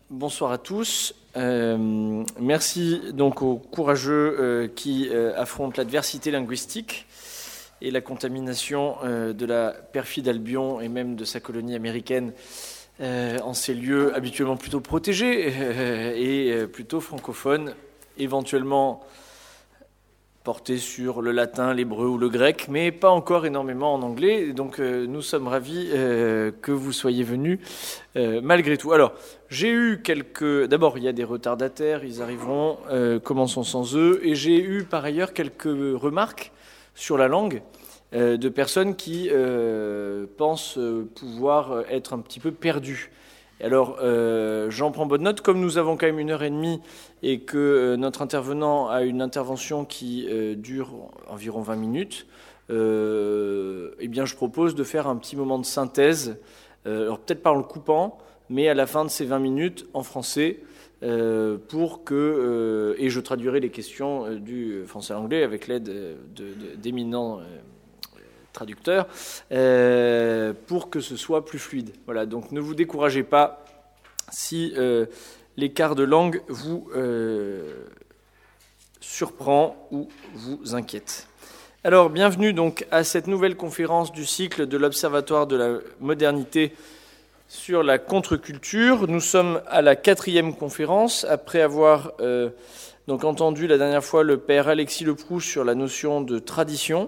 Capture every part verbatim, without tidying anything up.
Bonsoir à tous. Euh, merci donc aux courageux euh, qui euh, affrontent l'adversité linguistique et la contamination euh, de la perfide Albion et même de sa colonie américaine euh, en ces lieux habituellement plutôt protégés euh, et euh, plutôt francophones, éventuellement portés sur le latin, l'hébreu ou le grec, mais pas encore énormément en anglais. Et donc euh, nous sommes ravis euh, que vous soyez venus euh, malgré tout. Alors, j'ai eu quelques... D'abord, il y a des retardataires, ils arriveront, euh, commençons sans eux. Et j'ai eu par ailleurs quelques remarques sur la langue euh, de personnes qui euh, pensent pouvoir être un petit peu perdues. Alors, euh, j'en prends bonne note. Comme nous avons quand même une heure et demie et que euh, notre intervenant a une intervention qui euh, dure environ vingt minutes, euh, eh bien, je propose de faire un petit moment de synthèse. Euh, alors, peut-être pas en le coupant, mais à la fin de ces vingt minutes en français, euh, pour que euh, et je traduirai les questions euh, du français à l'anglais avec l'aide de, de, d'éminents euh, traducteur, euh, pour que ce soit plus fluide. Voilà, donc ne vous découragez pas si euh, l'écart de langue vous euh, surprend ou vous inquiète. Alors, bienvenue donc à cette nouvelle conférence du cycle de l'Observatoire de la modernité sur la contre-culture. Nous sommes à la quatrième conférence, après avoir euh, donc entendu la dernière fois le père Alexis Leproust sur la notion de tradition.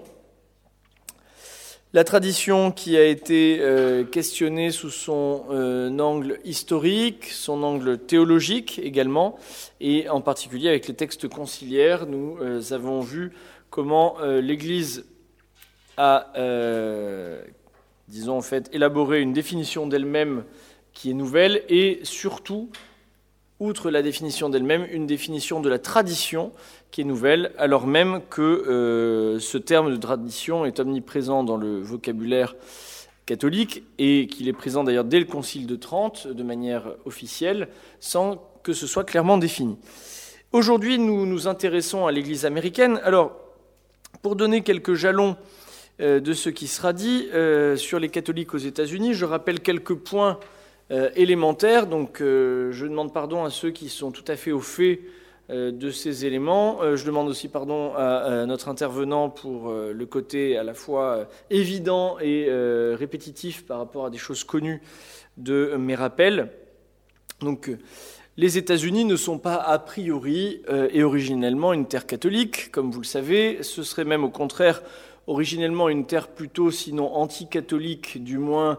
La tradition qui a été euh, questionnée sous son euh, angle historique, son angle théologique également, et en particulier avec les textes conciliaires, nous euh, avons vu comment euh, l'Église a, euh, disons en fait, élaboré une définition d'elle-même qui est nouvelle, et surtout, outre la définition d'elle-même, une définition de la tradition qui est nouvelle, alors même que euh, ce terme de tradition est omniprésent dans le vocabulaire catholique et qu'il est présent d'ailleurs dès le Concile de Trente de manière officielle, sans que ce soit clairement défini. Aujourd'hui, nous nous intéressons à l'Église américaine. Alors, pour donner quelques jalons euh, de ce qui sera dit euh, sur les catholiques aux États-Unis, je rappelle quelques points euh, élémentaires. Donc, euh, je demande pardon à ceux qui sont tout à fait au fait de ces éléments. Je demande aussi pardon à notre intervenant pour le côté à la fois évident et répétitif par rapport à des choses connues de mes rappels. Donc, les États-Unis ne sont pas a priori et originellement une terre catholique, comme vous le savez. Ce serait même au contraire originellement une terre plutôt, sinon anti-catholique, du moins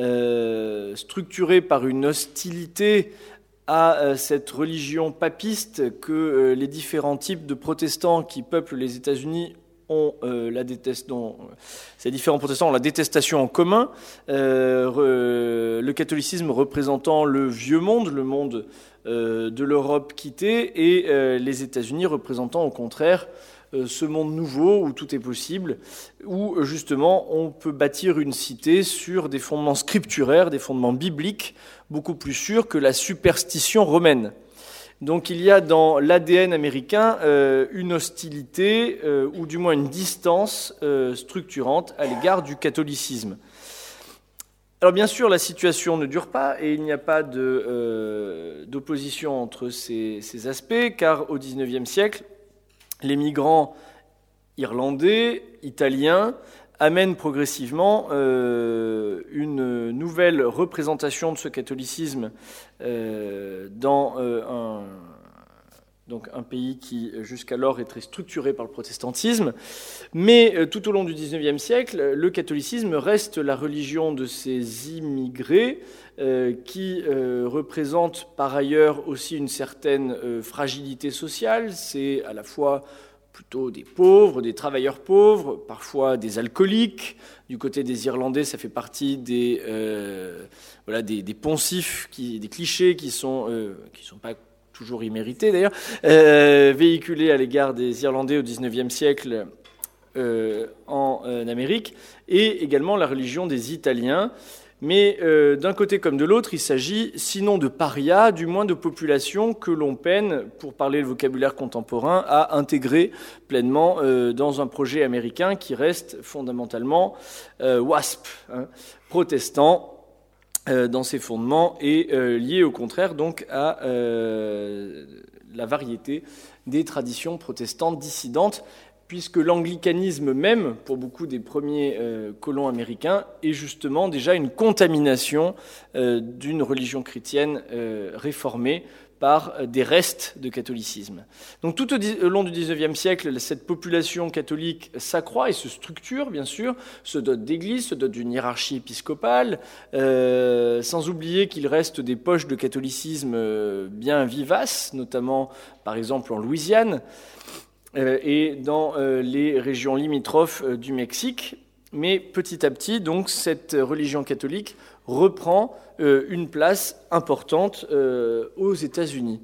euh, structurée par une hostilité à cette religion papiste que les différents types de protestants qui peuplent les États-Unis ont euh, la détestent, dont ces différents protestants ont la détestation en commun. Euh, re, le catholicisme représentant le vieux monde, le monde euh, de l'Europe quittée, et euh, les États-Unis représentant au contraire euh, ce monde nouveau où tout est possible, où justement on peut bâtir une cité sur des fondements scripturaires, des fondements bibliques, beaucoup plus sûrs que la superstition romaine. Donc il y a dans l'A D N américain euh, une hostilité, euh, ou du moins une distance euh, structurante à l'égard du catholicisme. Alors bien sûr, la situation ne dure pas et il n'y a pas de, euh, d'opposition entre ces, ces aspects, car au dix-neuvième siècle, les migrants irlandais, italiens, amène progressivement euh, une nouvelle représentation de ce catholicisme euh, dans euh, un, donc un pays qui jusqu'alors est très structuré par le protestantisme. Mais euh, tout au long du dix-neuvième siècle, le catholicisme reste la religion de ces immigrés euh, qui euh, représente par ailleurs aussi une certaine euh, fragilité sociale. C'est à la fois plutôt des pauvres, des travailleurs pauvres, parfois des alcooliques. Du côté des Irlandais, ça fait partie des, euh, voilà, des, des poncifs, qui, des clichés qui sont, euh, qui sont pas toujours immérités d'ailleurs, euh, véhiculés à l'égard des Irlandais au dix-neuvième siècle euh, en, en Amérique, et également la religion des Italiens. Mais euh, d'un côté comme de l'autre, il s'agit sinon de parias, du moins de populations que l'on peine, pour parler le vocabulaire contemporain, à intégrer pleinement euh, dans un projet américain qui reste fondamentalement euh, WASP, hein, protestant, euh, dans ses fondements et euh, lié au contraire donc à euh, la variété des traditions protestantes dissidentes, puisque l'anglicanisme même, pour beaucoup des premiers euh, colons américains, est justement déjà une contamination euh, d'une religion chrétienne euh, réformée par euh, des restes de catholicisme. Donc tout au, au long du dix-neuvième siècle, cette population catholique s'accroît et se structure, bien sûr, se dote d'églises, se dote d'une hiérarchie épiscopale, euh, sans oublier qu'il reste des poches de catholicisme euh, bien vivaces, notamment par exemple en Louisiane, et dans les régions limitrophes du Mexique. Mais petit à petit, donc, cette religion catholique reprend une place importante aux États-Unis.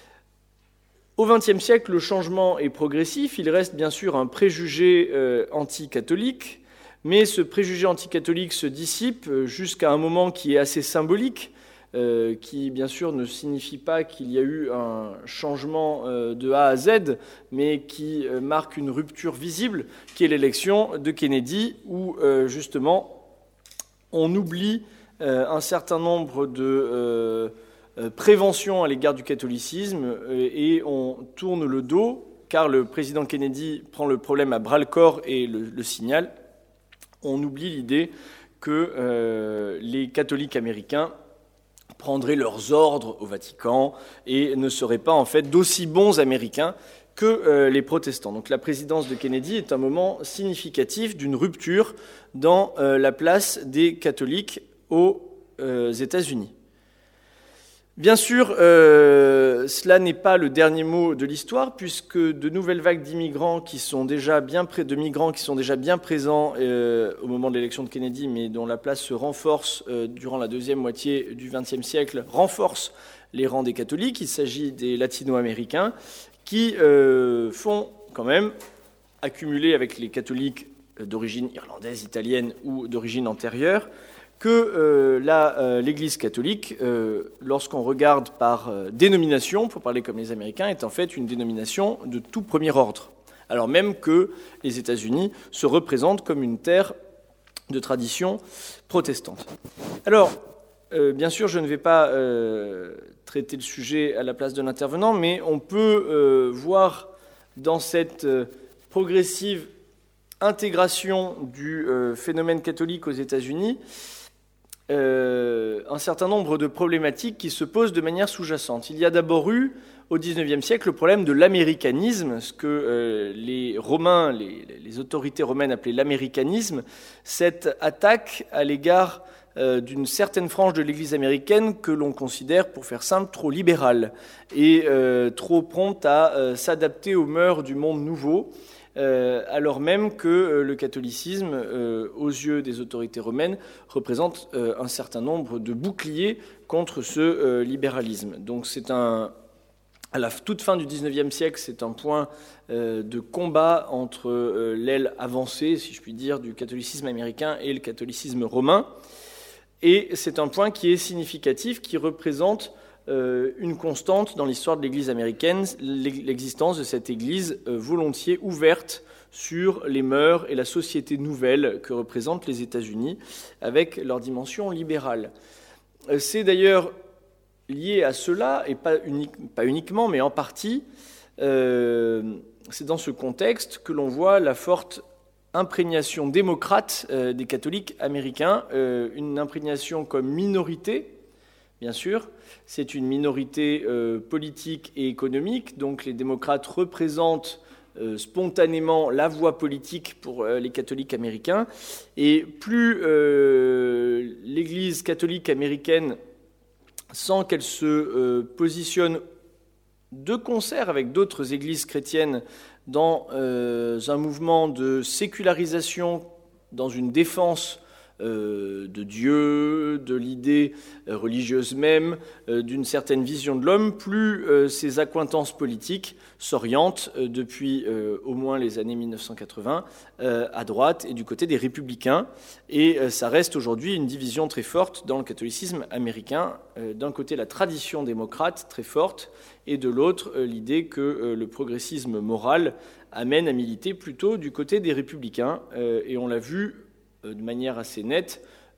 Au vingtième siècle, le changement est progressif. Il reste bien sûr un préjugé anti-catholique, mais ce préjugé anti-catholique se dissipe jusqu'à un moment qui est assez symbolique, Euh, qui bien sûr ne signifie pas qu'il y a eu un changement euh, de A à Z, mais qui euh, marque une rupture visible, qui est l'élection de Kennedy, où euh, justement on oublie euh, un certain nombre de euh, euh, préventions à l'égard du catholicisme euh, et on tourne le dos, car le président Kennedy prend le problème à bras-le-corps et le, le signale. On oublie l'idée que euh, les catholiques américains prendraient leurs ordres au Vatican et ne seraient pas en fait d'aussi bons Américains que euh, les protestants. Donc la présidence de Kennedy est un moment significatif d'une rupture dans euh, la place des catholiques aux euh, États-Unis. Bien sûr, euh, cela n'est pas le dernier mot de l'histoire, puisque de nouvelles vagues d'immigrants qui sont déjà bien près de migrants qui sont déjà bien présents euh, au moment de l'élection de Kennedy, mais dont la place se renforce euh, durant la deuxième moitié du vingtième siècle, renforcent les rangs des catholiques. Il s'agit des latino-américains qui euh, font quand même accumuler avec les catholiques d'origine irlandaise, italienne ou d'origine antérieure, que euh, la, euh, l'Église catholique, euh, lorsqu'on regarde par euh, dénomination, pour parler comme les Américains, est en fait une dénomination de tout premier ordre, alors même que les États-Unis se représentent comme une terre de tradition protestante. Alors, euh, bien sûr, je ne vais pas euh, traiter le sujet à la place de l'intervenant, mais on peut euh, voir dans cette euh, progressive intégration du euh, phénomène catholique aux États-Unis Euh, un certain nombre de problématiques qui se posent de manière sous-jacente. Il y a d'abord eu, au dix-neuvième siècle, le problème de l'américanisme, ce que euh, les Romains, les, les autorités romaines appelaient l'américanisme, cette attaque à l'égard euh, d'une certaine frange de l'Église américaine que l'on considère, pour faire simple, trop libérale et euh, trop prompte à euh, s'adapter aux mœurs du monde nouveau, Euh, alors même que euh, le catholicisme, euh, aux yeux des autorités romaines, représente euh, un certain nombre de boucliers contre ce euh, libéralisme. Donc c'est un, à la toute fin du dix-neuvième siècle, c'est un point euh, de combat entre euh, l'aile avancée, si je puis dire, du catholicisme américain et le catholicisme romain. Et c'est un point qui est significatif, qui représente une constante dans l'histoire de l'Église américaine, l'existence de cette Église volontiers ouverte sur les mœurs et la société nouvelle que représentent les États-Unis avec leur dimension libérale. C'est d'ailleurs lié à cela, et pas, unique, pas uniquement, mais en partie, euh, c'est dans ce contexte que l'on voit la forte imprégnation démocrate euh, des catholiques américains, euh, une imprégnation comme minorité. Bien sûr, c'est une minorité euh, politique et économique, donc les démocrates représentent euh, spontanément la voie politique pour euh, les catholiques américains, et plus euh, l'Église catholique américaine sent qu'elle se euh, positionne de concert avec d'autres églises chrétiennes dans euh, un mouvement de sécularisation, dans une défense Euh, de Dieu, de l'idée euh, religieuse même, euh, d'une certaine vision de l'homme, plus euh, ces accointances politiques s'orientent euh, depuis euh, au moins les années mille neuf cent quatre-vingts euh, à droite et du côté des républicains. Et euh, ça reste aujourd'hui une division très forte dans le catholicisme américain. Euh, d'un côté, la tradition démocrate très forte, et de l'autre, euh, l'idée que euh, le progressisme moral amène à militer plutôt du côté des républicains. Euh, et on l'a vu de manière assez nette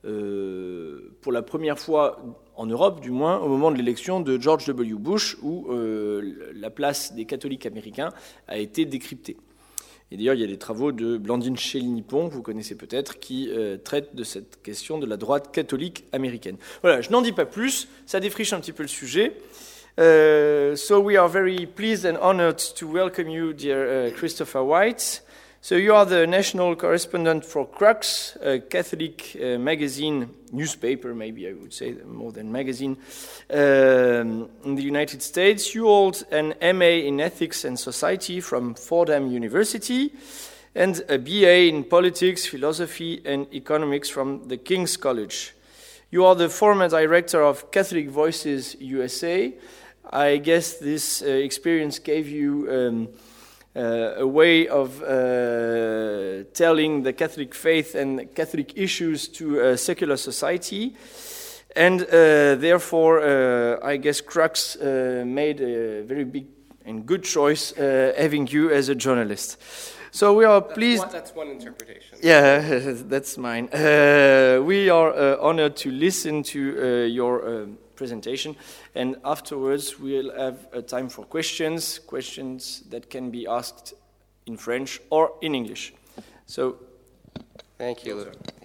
euh, pour la première fois en Europe, du moins, au moment de l'élection de George W. Bush, où euh, la place des catholiques américains a été décryptée. Et d'ailleurs, il y a des travaux de Blandine Chély-Nippon, que vous connaissez peut-être, qui euh, traitent de cette question de la droite catholique américaine. Voilà, je n'en dis pas plus, ça défriche un petit peu le sujet. Uh, so we are very pleased and honored to welcome you, dear uh, Christopher White. So you are the national correspondent for Crux, a Catholic uh, magazine, newspaper maybe I would say, more than magazine, um, in the United States. You hold an M A in Ethics and Society from Fordham University and a B A in Politics, Philosophy and Economics from the King's College. You are the former director of Catholic Voices U S A. I guess this uh, experience gave you um, uh, a way of uh, telling the Catholic faith and Catholic issues to a secular society. And uh, therefore, uh, I guess Crux uh, made a very big and good choice uh, having you as a journalist. So we are that's pleased... One, that's one interpretation. Yeah, that's mine. Uh, we are uh, honored to listen to uh, your uh, presentation, and afterwards we'll have a time for questions, questions that can be asked in French or in English. So, thank you.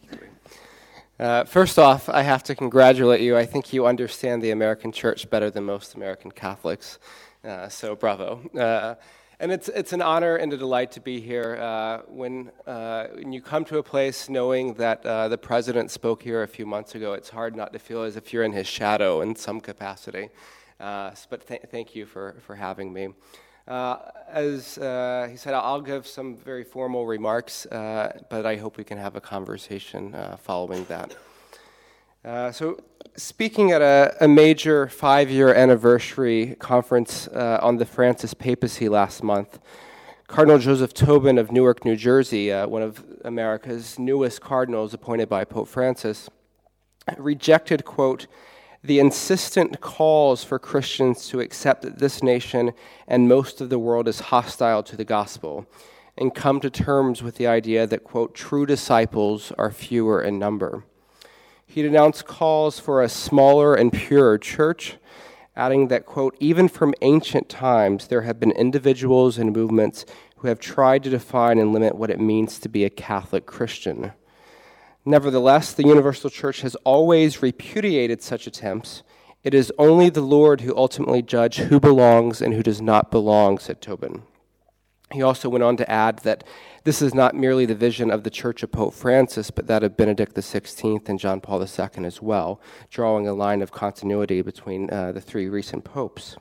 Uh, first off, I have to congratulate you. I think you understand the American church better than most American Catholics, uh, so bravo. Uh, And it's it's an honor and a delight to be here. Uh, when uh, when you come to a place knowing that uh, the president spoke here a few months ago, it's hard not to feel as if you're in his shadow in some capacity. Uh, but th- thank you for, for having me. Uh, as uh, he said, I'll give some very formal remarks, uh, but I hope we can have a conversation uh, following that. Uh, so, speaking at a, a major five-year anniversary conference uh, on the Francis papacy last month, Cardinal Joseph Tobin of Newark, New Jersey, uh, one of America's newest cardinals appointed by Pope Francis, rejected, quote, the insistent calls for Christians to accept that this nation and most of the world is hostile to the gospel, and come to terms with the idea that, quote, true disciples are fewer in number. He denounced calls for a smaller and purer church, adding that, quote, even from ancient times there have been individuals and movements who have tried to define and limit what it means to be a Catholic Christian. Nevertheless, the Universal Church has always repudiated such attempts. It is only the Lord who ultimately judges who belongs and who does not belong, said Tobin. He also went on to add that this is not merely the vision of the Church of Pope Francis, but that of Benedict the sixteenth and John Paul the Second as well, drawing a line of continuity between uh, the three recent popes.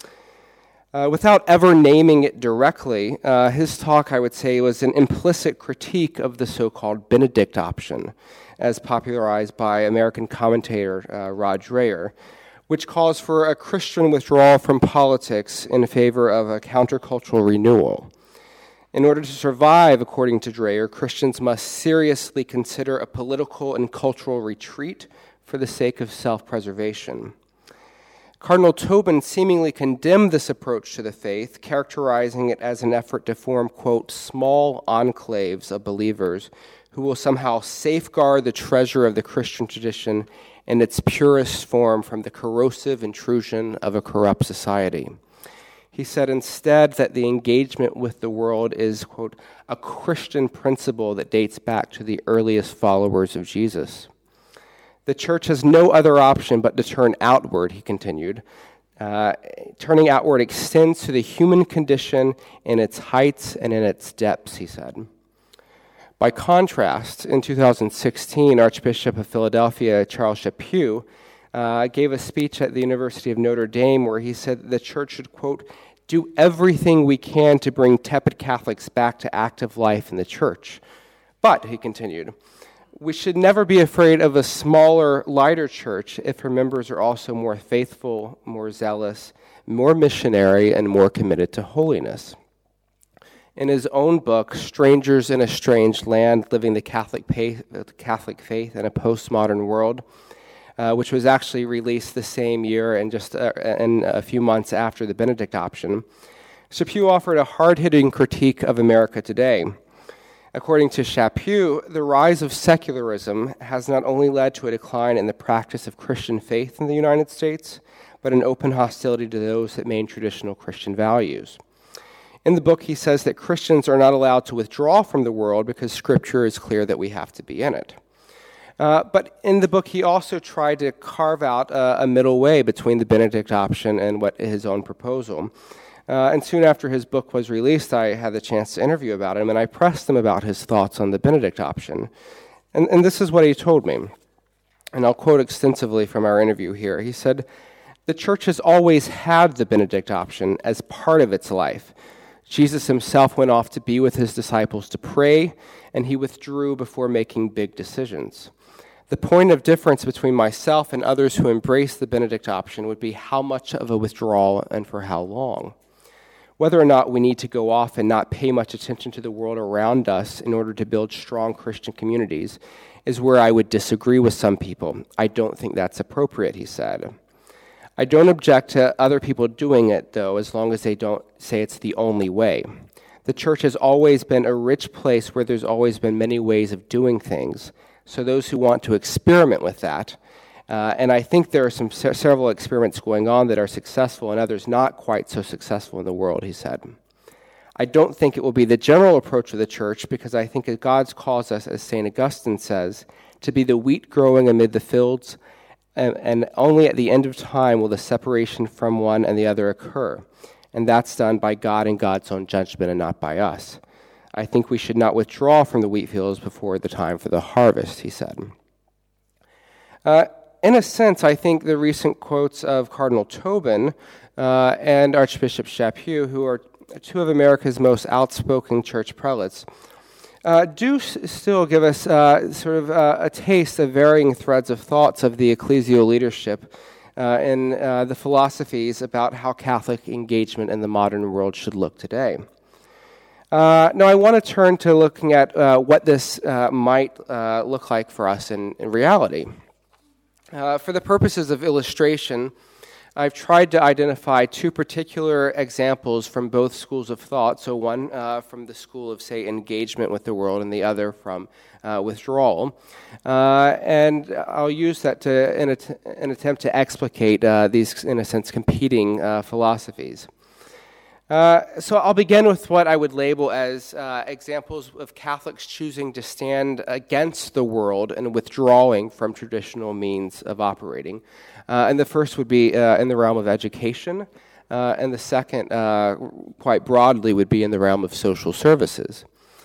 Uh, without ever naming it directly, uh, his talk, I would say, was an implicit critique of the so-called Benedict option, as popularized by American commentator uh, Rod Dreher, which calls for a Christian withdrawal from politics in favor of a countercultural renewal. In order to survive, according to Dreher, Christians must seriously consider a political and cultural retreat for the sake of self-preservation. Cardinal Tobin seemingly condemned this approach to the faith, characterizing it as an effort to form, quote, small enclaves of believers who will somehow safeguard the treasure of the Christian tradition in its purest form from the corrosive intrusion of a corrupt society. He said instead that the engagement with the world is, quote, a Christian principle that dates back to the earliest followers of Jesus. The church has no other option but to turn outward, he continued. Uh, turning outward extends to the human condition in its heights and in its depths, he said. By contrast, in two thousand sixteen, Archbishop of Philadelphia, Charles Chaput, uh, gave a speech at the University of Notre Dame where he said that the church should, quote, do everything we can to bring tepid Catholics back to active life in the church. But, he continued, we should never be afraid of a smaller, lighter church if her members are also more faithful, more zealous, more missionary, and more committed to holiness. In his own book, Strangers in a Strange Land, Living the Catholic Faith, Catholic Faith in a Postmodern World, uh, which was actually released the same year and just uh, and a few months after the Benedict option, Chaput offered a hard-hitting critique of America today. According to Chaput, the rise of secularism has not only led to a decline in the practice of Christian faith in the United States, but an open hostility to those that maintain traditional Christian values. In the book, he says that Christians are not allowed to withdraw from the world because Scripture is clear that we have to be in it. Uh, but in the book, he also tried to carve out uh, a middle way between the Benedict option and what his own proposal. Uh, and soon after his book was released, I had the chance to interview about him, and I pressed him about his thoughts on the Benedict option. And, and this is what he told me, and I'll quote extensively from our interview here. He said, "The church has always had the Benedict option as part of its life. Jesus himself went off to be with his disciples to pray, and he withdrew before making big decisions. The point of difference between myself and others who embrace the Benedict option would be how much of a withdrawal and for how long. Whether or not we need to go off and not pay much attention to the world around us in order to build strong Christian communities is where I would disagree with some people. I don't think that's appropriate," he said. "I don't object to other people doing it, though, as long as they don't say it's the only way. The church has always been a rich place where there's always been many ways of doing things. So those who want to experiment with that, uh, and I think there are some se- several experiments going on that are successful and others not quite so successful in the world," he said. "I don't think it will be the general approach of the church because I think that God calls us, as Saint Augustine says, to be the wheat growing amid the fields, and, and only at the end of time will the separation from one and the other occur. And that's done by God and God's own judgment and not by us. I think we should not withdraw from the wheat fields before the time for the harvest," he said. Uh, in a sense, I think the recent quotes of Cardinal Tobin uh, and Archbishop Chaput, who are two of America's most outspoken church prelates, uh, do s- still give us uh, sort of uh, a taste of varying threads of thoughts of the ecclesial leadership uh, and uh, the philosophies about how Catholic engagement in the modern world should look today. Uh, now, I want to turn to looking at uh, what this uh, might uh, look like for us in, in reality. Uh, for the purposes of illustration, I've tried to identify two particular examples from both schools of thought. So one uh, from the school of, say, engagement with the world, and the other from uh, withdrawal. Uh, and I'll use that to in an attempt to explicate uh, these, in a sense, competing uh, philosophies. Uh, so I'll begin with what I would label as uh, examples of Catholics choosing to stand against the world and withdrawing from traditional means of operating. Uh, and the first would be uh, in the realm of education, uh, and the second, uh, quite broadly, would be in the realm of social services.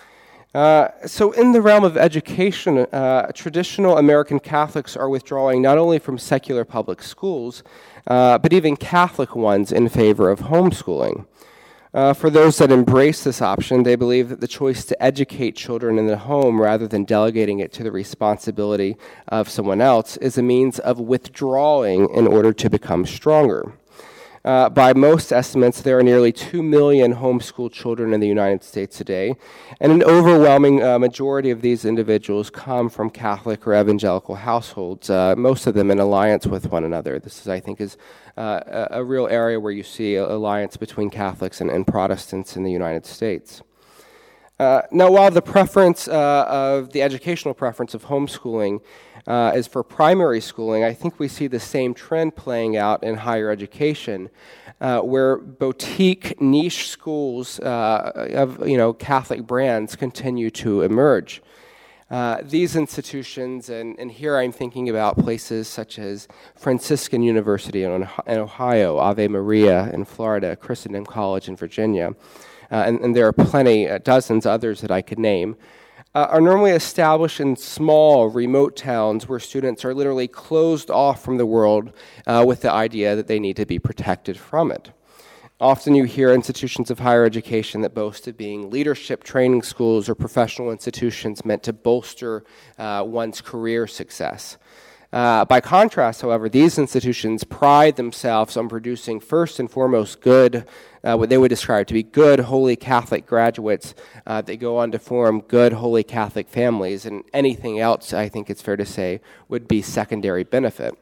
Uh, so in the realm of education, uh, traditional American Catholics are withdrawing not only from secular public schools, uh, but even Catholic ones in favor of homeschooling. Uh, for those that embrace this option, they believe that the choice to educate children in the home rather than delegating it to the responsibility of someone else is a means of withdrawing in order to become stronger. Uh, by most estimates, there are nearly two million homeschooled children in the United States today, and an overwhelming uh, majority of these individuals come from Catholic or evangelical households, uh, most of them in alliance with one another. This, is, I think, is uh, a, a real area where you see an alliance between Catholics and, and Protestants in the United States. Uh, now, while the preference uh, of the educational preference of homeschooling Uh, is for primary schooling, I think we see the same trend playing out in higher education, uh, where boutique niche schools uh, of you know Catholic brands continue to emerge. Uh, these institutions, and, and here I'm thinking about places such as Franciscan University in, in Ohio, Ave Maria in Florida, Christendom College in Virginia, uh, and, and there are plenty, uh, dozens others that I could name, Uh, are normally established in small, remote towns where students are literally closed off from the world uh, with the idea that they need to be protected from it. Often you hear institutions of higher education that boast of being leadership training schools or professional institutions meant to bolster uh, one's career success. Uh, by contrast, however, these institutions pride themselves on producing first and foremost good, uh, what they would describe to be good, holy Catholic graduates uh, that go on to form good, holy Catholic families, and anything else, I think it's fair to say, would be secondary benefit.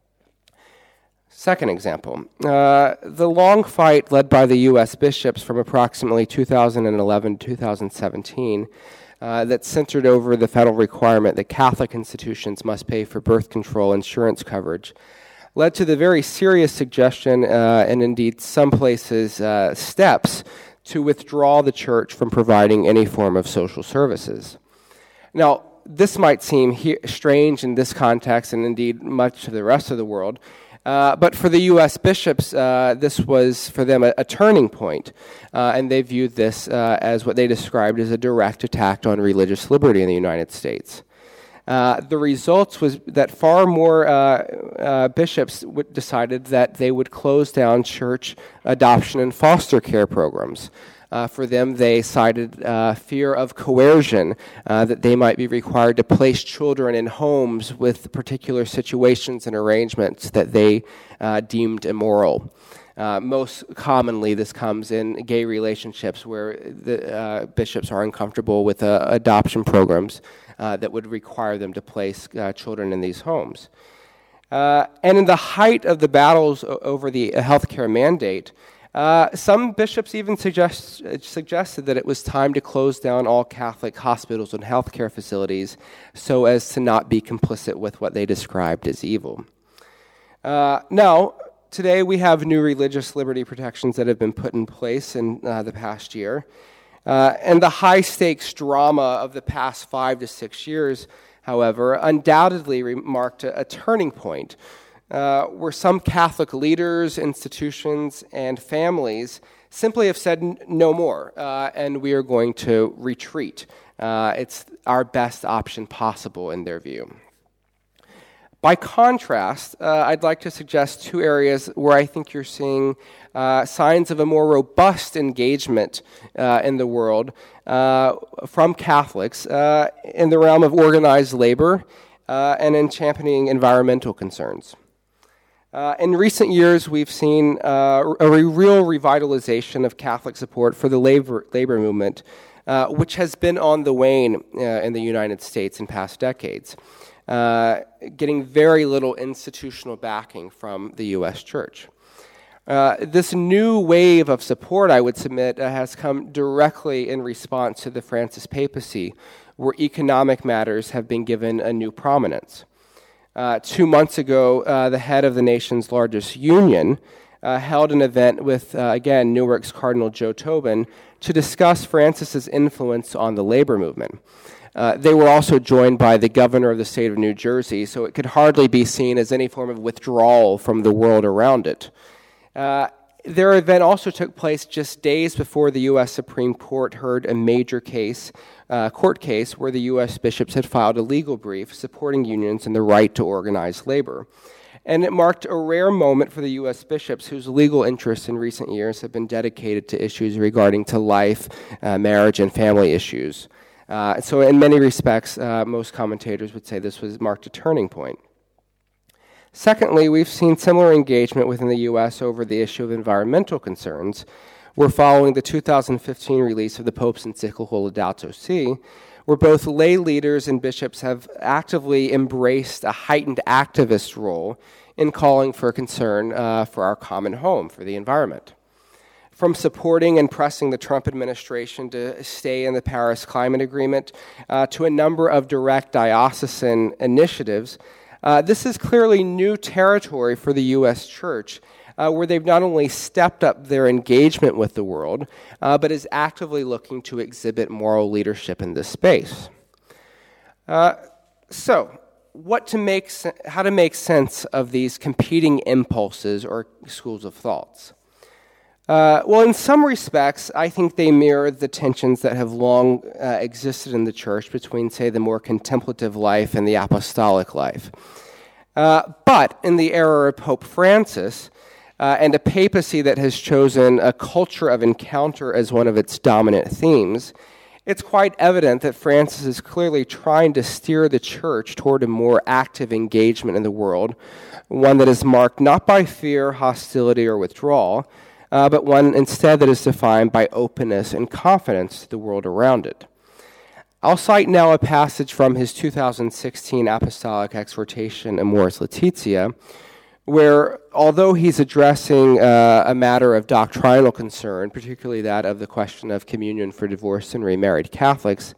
Second example, uh, the long fight led by the U S bishops from approximately two thousand eleven to two thousand seventeen uh, that centered over the federal requirement that Catholic institutions must pay for birth control insurance coverage, led to the very serious suggestion, uh, and indeed some places uh, steps, to withdraw the church from providing any form of social services. Now, this might seem he- strange in this context, and indeed much of the rest of the world, uh, but for the U S bishops, uh, this was for them a, a turning point, uh, and they viewed this uh, as what they described as a direct attack on religious liberty in the United States. Uh, the results was that far more uh, uh, bishops w- decided that they would close down church adoption and foster care programs. Uh, for them, they cited uh, fear of coercion, uh, that they might be required to place children in homes with particular situations and arrangements that they uh, deemed immoral. Uh, most commonly, this comes in gay relationships where the uh, bishops are uncomfortable with uh, adoption programs uh, that would require them to place uh, children in these homes. Uh, and in the height of the battles o- over the healthcare mandate, uh, some bishops even suggest, suggested that it was time to close down all Catholic hospitals and healthcare facilities so as to not be complicit with what they described as evil. Uh, now, today we have new religious liberty protections that have been put in place in uh, the past year. Uh, and the high-stakes drama of the past five to six years, however, undoubtedly re- marked a, a turning point uh, where some Catholic leaders, institutions, and families simply have said n- no more, uh, and we are going to retreat. Uh, it's our best option possible in their view. By contrast, uh, I'd like to suggest two areas where I think you're seeing uh, signs of a more robust engagement uh, in the world uh, from Catholics uh, in the realm of organized labor uh, and in championing environmental concerns. Uh, in recent years, we've seen uh, a re- real revitalization of Catholic support for the labor, labor movement, uh, which has been on the wane uh, in the United States in past decades. Uh, getting very little institutional backing from the U S church. Uh, this new wave of support, I would submit, uh, has come directly in response to the Francis papacy, where economic matters have been given a new prominence. Uh, two months ago, uh, the head of the nation's largest union uh, held an event with, uh, again, Newark's Cardinal Joe Tobin to discuss Francis's influence on the labor movement. Uh, they were also joined by the governor of the state of New Jersey, so it could hardly be seen as any form of withdrawal from the world around it. Uh, their event also took place just days before the U S Supreme Court heard a major case, uh, court case, where the U S bishops had filed a legal brief supporting unions and the right to organize labor. And it marked a rare moment for the U S bishops whose legal interests in recent years have been dedicated to issues regarding to life, uh, marriage, and family issues. Uh, so in many respects, uh, most commentators would say this was marked a turning point. Secondly, we've seen similar engagement within the U S over the issue of environmental concerns. We're following the two thousand fifteen release of the Pope's encyclical Laudato Si, where both lay leaders and bishops have actively embraced a heightened activist role in calling for concern uh, for our common home, for the environment. From supporting and pressing the Trump administration to stay in the Paris Climate Agreement uh, to a number of direct diocesan initiatives, uh, this is clearly new territory for the U S Church, uh, where they've not only stepped up their engagement with the world, uh, but is actively looking to exhibit moral leadership in this space. Uh, so, what to make, how to make sense of these competing impulses or schools of thoughts? Uh, well, in some respects, I think they mirror the tensions that have long uh, existed in the church between, say, the more contemplative life and the apostolic life. Uh, but in the era of Pope Francis, uh, and a papacy that has chosen a culture of encounter as one of its dominant themes, it's quite evident that Francis is clearly trying to steer the church toward a more active engagement in the world, one that is marked not by fear, hostility, or withdrawal, Uh, but one instead that is defined by openness and confidence to the world around it. I'll cite now a passage from his two thousand sixteen Apostolic Exhortation, Amoris Laetitia, where, although he's addressing uh, a matter of doctrinal concern, particularly that of the question of communion for divorced and remarried Catholics,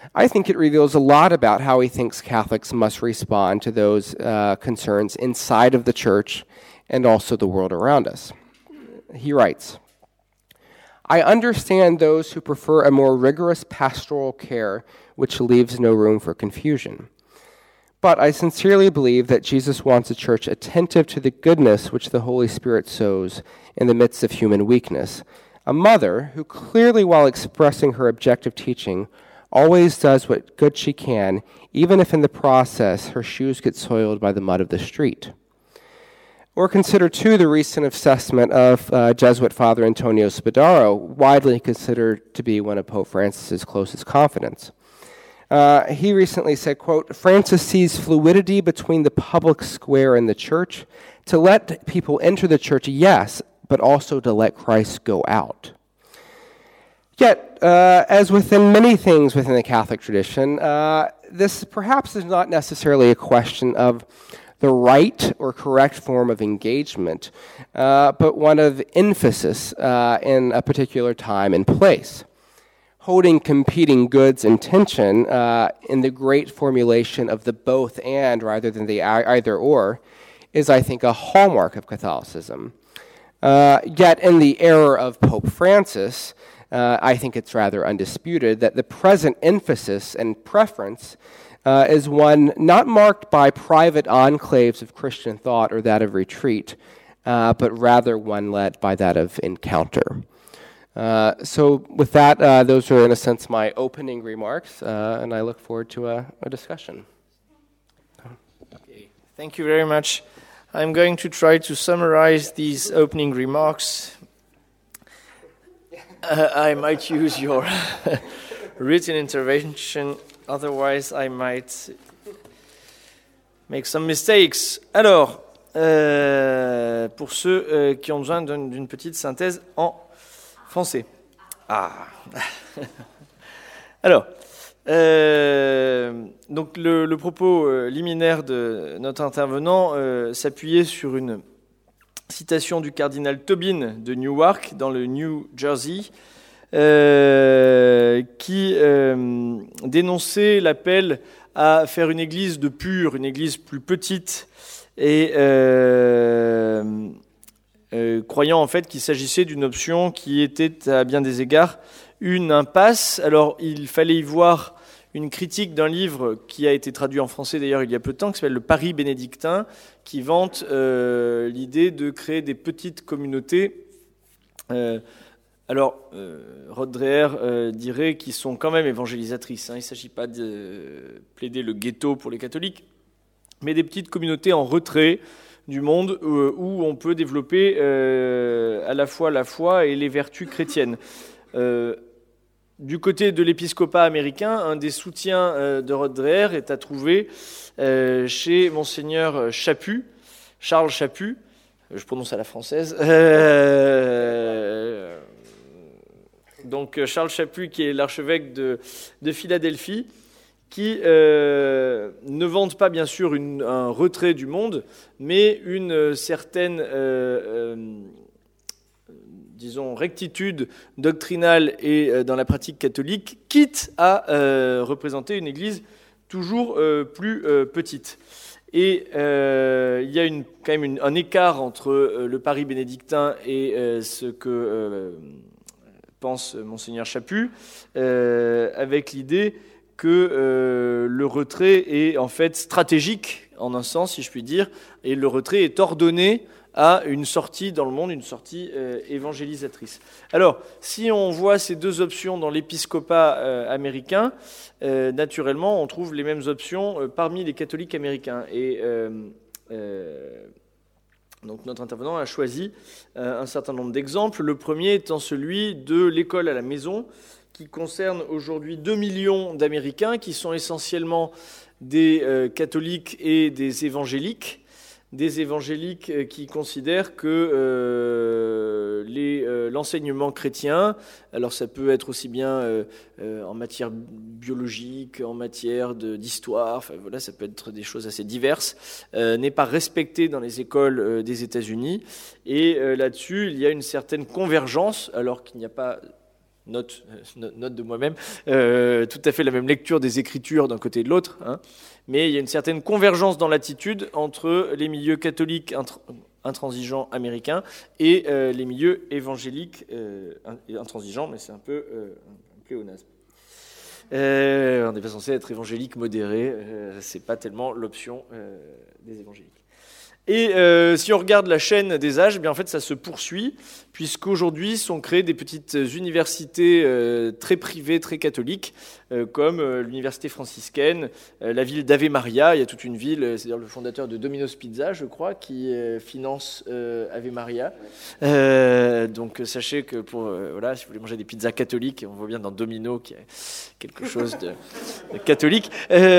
I think it reveals a lot about how he thinks Catholics must respond to those uh, concerns inside of the church and also the world around us. He writes, I understand those who prefer a more rigorous pastoral care which leaves no room for confusion. But I sincerely believe that Jesus wants a church attentive to the goodness which the Holy Spirit sows in the midst of human weakness. A mother who clearly, while expressing her objective teaching, always does what good she can, even if in the process her shoes get soiled by the mud of the street. Or consider, too, the recent assessment of uh, Jesuit Father Antonio Spadaro, widely considered to be one of Pope Francis's closest confidants. Uh, he recently said, quote, Francis sees fluidity between the public square and the church. To let people enter the church, yes, but also to let Christ go out. Yet, uh, as within many things within the Catholic tradition, uh, this perhaps is not necessarily a question of the right or correct form of engagement, uh, but one of emphasis uh, in a particular time and place. Holding competing goods in tension uh, in the great formulation of the both and rather than the either or is, I think, a hallmark of Catholicism. Uh, yet in the era of Pope Francis, uh, I think it's rather undisputed that the present emphasis and preference uh, is one not marked by private enclaves of Christian thought or that of retreat, uh, but rather one led by that of encounter. Uh, so with that, uh, those are in a sense my opening remarks, uh, and I look forward to a, a discussion. Okay. Thank you very much. I'm going to try to summarize these opening remarks. Uh, I might use your written intervention, otherwise I might make some mistakes. Alors, euh, pour ceux euh, qui ont besoin d'une, d'une petite synthèse en français. Ah. Alors, euh, donc le, le propos euh, liminaire de notre intervenant euh, s'appuyait sur une citation du cardinal Tobin de Newark, dans le New Jersey, euh, qui euh, dénonçait l'appel à faire une église de pure, une église plus petite, et euh, euh, croyant en fait qu'il s'agissait d'une option qui était à bien des égards une impasse. Alors il fallait y voir une critique d'un livre qui a été traduit en français d'ailleurs il y a peu de temps, qui s'appelle Le Paris bénédictin, qui vante euh, l'idée de créer des petites communautés. Euh, alors, euh, Rod Dreher euh, dirait qu'ils sont quand même évangélisatrices. Hein. Il ne s'agit pas de plaider le ghetto pour les catholiques, mais des petites communautés en retrait du monde euh, où on peut développer euh, à la fois la foi et les vertus chrétiennes. Euh, Du côté de l'épiscopat américain, un des soutiens euh, de Rod Dreher est à trouver euh, chez Monseigneur Chaput, Charles Chaput, je prononce à la française. Euh, donc Charles Chaput, qui est l'archevêque de, de Philadelphie, qui euh, ne vante pas bien sûr une, un retrait du monde, mais une certaine... Euh, euh, disons, rectitude doctrinale et euh, dans la pratique catholique, quitte à euh, représenter une église toujours euh, plus euh, petite. Et euh, il y a une, quand même une, un écart entre euh, le Paris bénédictin et euh, ce que euh, pense Monseigneur Chaput, euh, avec l'idée que euh, le retrait est en fait stratégique, en un sens, si je puis dire, et le retrait est ordonné à une sortie dans le monde, une sortie euh, évangélisatrice. Alors, si on voit ces deux options dans l'épiscopat euh, américain, euh, naturellement, on trouve les mêmes options euh, parmi les catholiques américains. Et euh, euh, donc, notre intervenant a choisi euh, un certain nombre d'exemples. Le premier étant celui de l'école à la maison, qui concerne aujourd'hui deux millions d'Américains, qui sont essentiellement des euh, catholiques et des évangéliques. Des évangéliques qui considèrent que euh, les, euh, l'enseignement chrétien, alors ça peut être aussi bien euh, euh, en matière biologique, en matière de, d'histoire, enfin voilà, ça peut être des choses assez diverses, euh, n'est pas respecté dans les écoles euh, des États-Unis. Et euh, là-dessus, il y a une certaine convergence, alors qu'il n'y a pas note, euh, note de moi-même, euh, tout à fait la même lecture des Écritures d'un côté et de l'autre, hein, mais il y a une certaine convergence dans l'attitude entre les milieux catholiques intr- intransigeants américains et euh, les milieux évangéliques euh, intransigeants, mais c'est un peu euh, un pléonasme. Euh, on n'est pas censé être évangélique modéré, euh, c'est pas tellement l'option euh, des évangéliques. Et euh, si on regarde la chaîne des âges, eh bien en fait ça se poursuit, puisqu'aujourd'hui sont créées des petites universités euh, très privées, très catholiques, euh, comme euh, l'université franciscaine, euh, la ville d'Ave Maria. Il y a toute une ville, c'est d'ailleurs le fondateur de Domino's Pizza, je crois, qui euh, finance euh, Ave Maria. Euh, donc sachez que pour euh, voilà, si vous voulez manger des pizzas catholiques, on voit bien dans Domino qu'il y a quelque chose de, de catholique.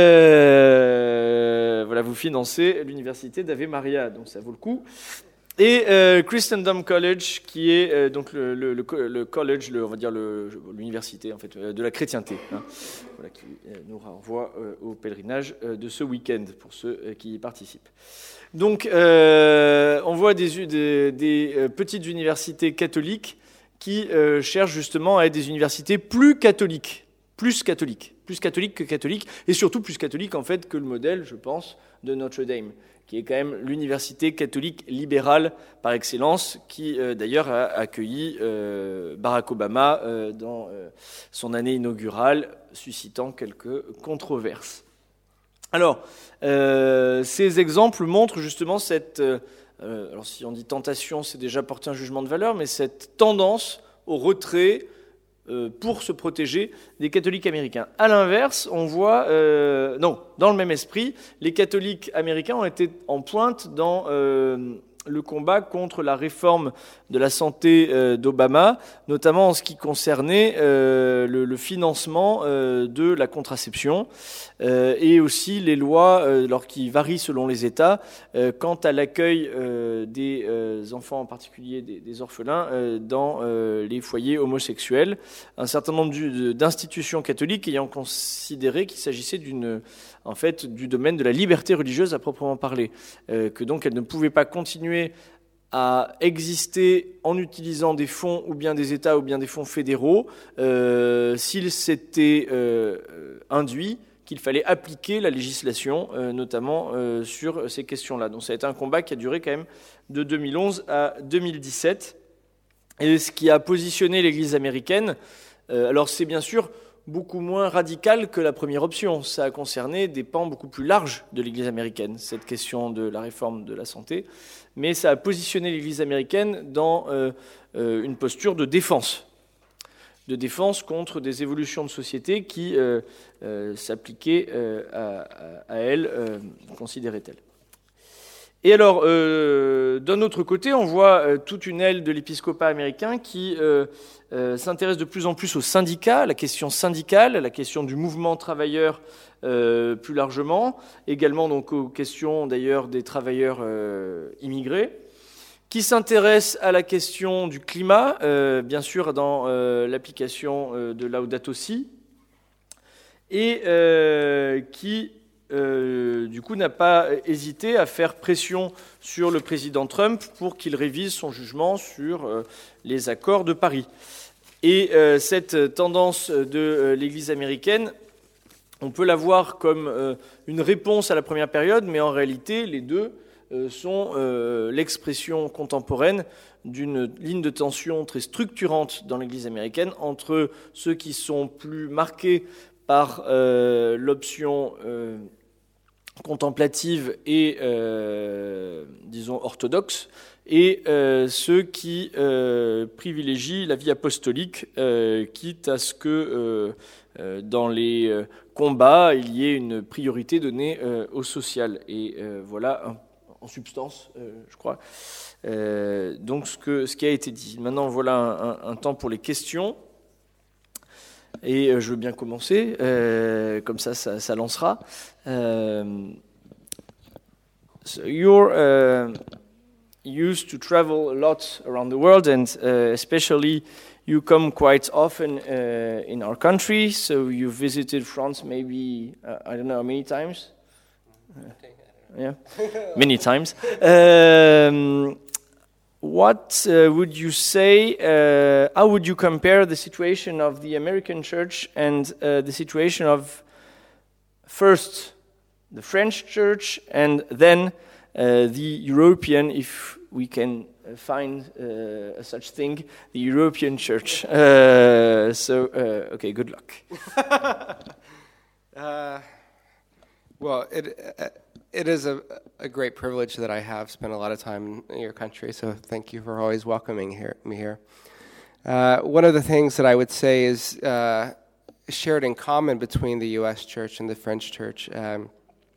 Euh, voilà, vous financez l'université d'Ave Maria. Donc ça vaut le coup. Et euh, Christendom College, qui est euh, donc le, le, le, le college, le, on va dire le, l'université en fait euh, de la chrétienté, hein, voilà, qui euh, nous renvoie euh, au pèlerinage euh, de ce week-end pour ceux euh, qui y participent. Donc euh, on voit des, des, des euh, petites universités catholiques qui euh, cherchent justement à être des universités plus catholiques, plus catholiques, plus catholiques que catholiques, et surtout plus catholiques en fait que le modèle, je pense, de Notre-Dame, qui est quand même l'université catholique libérale par excellence, qui euh, d'ailleurs a accueilli euh, Barack Obama euh, dans euh, son année inaugurale, suscitant quelques controverses. Alors, euh, ces exemples montrent justement cette, euh, alors si on dit tentation, c'est déjà porter un jugement de valeur, mais cette tendance au retrait pour se protéger des catholiques américains. À l'inverse, on voit, euh, non, dans le même esprit, les catholiques américains ont été en pointe dans euh, le combat contre la réforme de la santé euh, d'Obama, notamment en ce qui concernait euh, le, le financement euh, de la contraception euh, et aussi les lois, euh, alors qui varient selon les États, euh, quant à l'accueil euh, des euh, enfants, en particulier des, des orphelins, euh, dans euh, les foyers homosexuels. Un certain nombre du, d'institutions catholiques ayant considéré qu'il s'agissait d'une, en fait, du domaine de la liberté religieuse à proprement parler, euh, que donc elles ne pouvaient pas continuer à exister en utilisant des fonds ou bien des États ou bien des fonds fédéraux euh, s'il s'était euh, induit qu'il fallait appliquer la législation, euh, notamment euh, sur ces questions-là. Donc ça a été un combat qui a duré quand même de deux mille onze à deux mille dix-sept. Et ce qui a positionné l'Église américaine, euh, alors c'est bien sûr beaucoup moins radical que la première option. Ça a concerné des pans beaucoup plus larges de l'Église américaine, cette question de la réforme de la santé. Mais ça a positionné l'Église américaine dans euh, euh, une posture de défense, de défense contre des évolutions de société qui euh, euh, s'appliquaient euh, à, à, à elle, euh, considérait-elle. Et alors, euh, d'un autre côté, on voit euh, toute une aile de l'épiscopat américain qui euh, euh, s'intéresse de plus en plus aux syndicats, la question syndicale, la question du mouvement travailleur euh, plus largement, également donc aux questions d'ailleurs des travailleurs euh, immigrés, qui s'intéresse à la question du climat, euh, bien sûr dans euh, l'application euh, de Laudato Si, et euh, qui Euh, du coup, n'a pas hésité à faire pression sur le président Trump pour qu'il révise son jugement sur euh, les accords de Paris. Et euh, cette tendance de euh, l'Église américaine, on peut la voir comme euh, une réponse à la première période, mais en réalité, les deux euh, sont euh, l'expression contemporaine d'une ligne de tension très structurante dans l'Église américaine entre ceux qui sont plus marqués par euh, l'option euh, contemplative et, euh, disons, orthodoxe, et euh, ceux qui euh, privilégient la vie apostolique, euh, quitte à ce que euh, euh, dans les euh, combats, il y ait une priorité donnée euh, au social. Et euh, voilà, en, en substance, euh, je crois, euh, donc ce, que, ce qui a été dit. Maintenant, voilà un, un, un temps pour les questions. Et euh, je veux bien commencer, euh, comme ça, ça, ça lancera. Um, so you're uh, used to travel a lot around the world, and uh, especially you come quite often uh, in our country. So you visited France maybe, uh, I don't know how many times? Uh, yeah, many times. Um, what uh, would you say, uh, how would you compare the situation of the American church and uh, the situation of first the French church and then uh, the European, if we can find uh, such thing, the European church? Uh, so, uh, okay, good luck. uh, well, it... Uh, It is a, a great privilege that I have spent a lot of time in your country, so thank you for always welcoming here, me here. Uh, one of the things that I would say is uh, shared in common between the U S church and the French church um,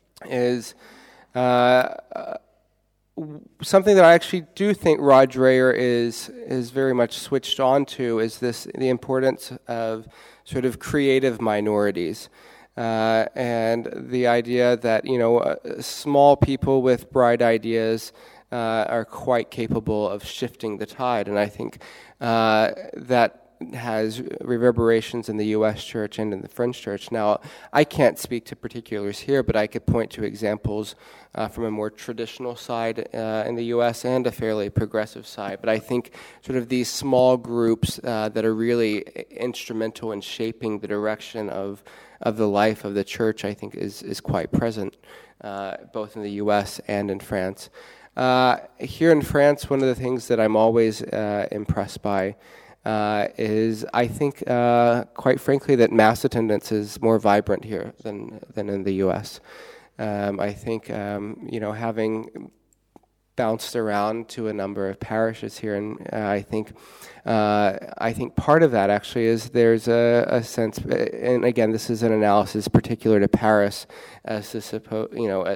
is uh, something that I actually do think Rod Dreher is is very much switched on to, is this the importance of sort of creative minorities. Uh, and the idea that, you know, uh, small people with bright ideas uh, are quite capable of shifting the tide. And I think uh, that has reverberations in the U S church and in the French church. Now, I can't speak to particulars here, but I could point to examples uh, from a more traditional side uh, in the U S and a fairly progressive side. But I think sort of these small groups uh, that are really instrumental in shaping the direction of of the life of the church, I think, is is quite present, uh, both in the U S and in France. Uh, here in France, one of the things that I'm always uh, impressed by uh, is, I think, uh, quite frankly, that mass attendance is more vibrant here than than in the U S. Um, I think, um, you know, having bounced around to a number of parishes here, and uh, I think uh, I think part of that actually is there's a, a sense, and again, this is an analysis particular to Paris, as to suppo- you know,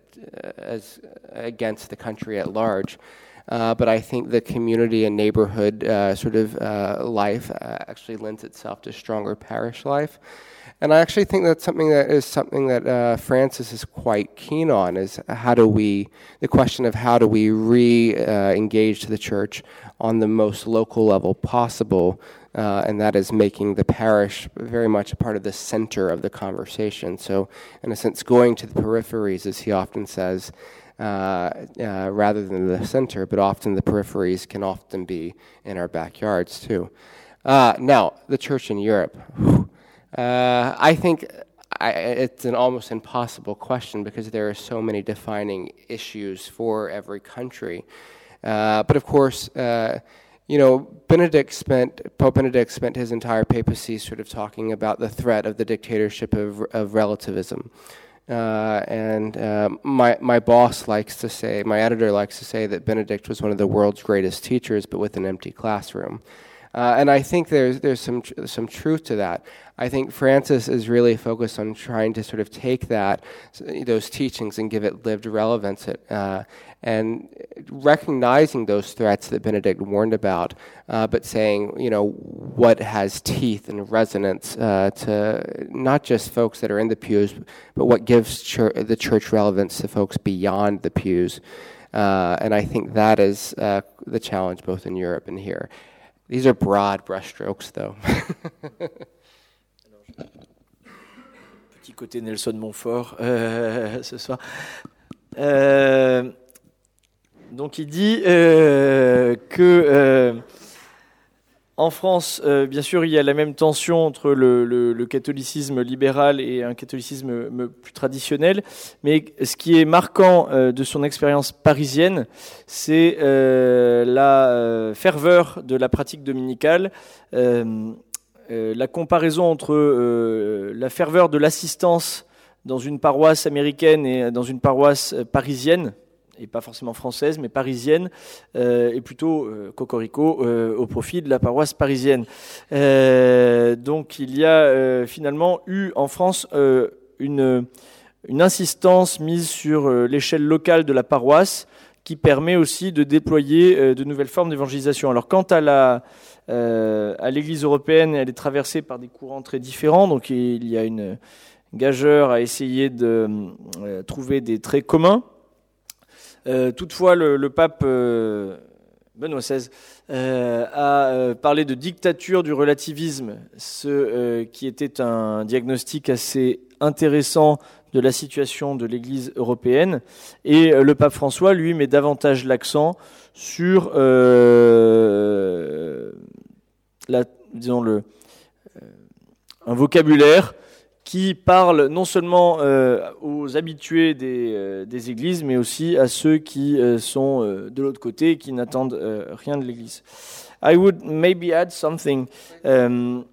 as against the country at large. Uh, but I think the community and neighborhood uh, sort of uh, life uh, actually lends itself to stronger parish life. And I actually think that's something that is something that uh, Francis is quite keen on, is how do we, the question of how do we re-engage uh, the church on the most local level possible, uh, and that is making the parish very much a part of the center of the conversation. So in a sense, going to the peripheries, as he often says, uh, uh, rather than the center, but often the peripheries can often be in our backyards too. Uh, now, the church in Europe. Whew. Uh, I think I, it's an almost impossible question because there are so many defining issues for every country. Uh, but of course, uh, you know, Benedict spent, Pope Benedict spent his entire papacy sort of talking about the threat of the dictatorship of, of relativism. Uh, and uh, my my boss likes to say, my editor likes to say that Benedict was one of the world's greatest teachers, but with an empty classroom. Uh, and I think there's there's some tr- some truth to that. I think Francis is really focused on trying to sort of take that, those teachings, and give it lived relevance, uh, and recognizing those threats that Benedict warned about, uh, but saying, you know, what has teeth and resonance uh, to not just folks that are in the pews, but what gives chur- the church relevance to folks beyond the pews. Uh, and I think that is uh, the challenge both in Europe and here. These are broad brushstrokes, though. Petit côté Nelson Montfort euh, ce soir. Euh, donc il dit euh, que euh, en France, euh, bien sûr, il y a la même tension entre le, le, le catholicisme libéral et un catholicisme plus traditionnel, mais ce qui est marquant euh, de son expérience parisienne, c'est euh, la euh, ferveur de la pratique dominicale, euh, euh, la comparaison entre euh, la ferveur de l'assistance dans une paroisse américaine et dans une paroisse parisienne, et pas forcément française, mais parisienne, euh, et plutôt euh, cocorico euh, au profit de la paroisse parisienne. Euh, donc il y a euh, finalement eu en France euh, une, une insistance mise sur euh, l'échelle locale de la paroisse qui permet aussi de déployer euh, de nouvelles formes d'évangélisation. Alors quant à la euh, à l'Église européenne, elle est traversée par des courants très différents, donc il y a une gageure à essayer de euh, trouver des traits communs. Euh, toutefois, le, le pape euh, Benoît seize euh, a euh, parlé de dictature du relativisme, ce euh, qui était un diagnostic assez intéressant de la situation de l'Église européenne. Et euh, le pape François, lui, met davantage l'accent sur euh, la, disons le, euh, un vocabulaire qui parle non seulement euh, aux habitués des, euh, des églises, mais aussi à ceux qui euh, sont euh, de l'autre côté et qui n'attendent euh, rien de l'église. I would maybe add something. Um,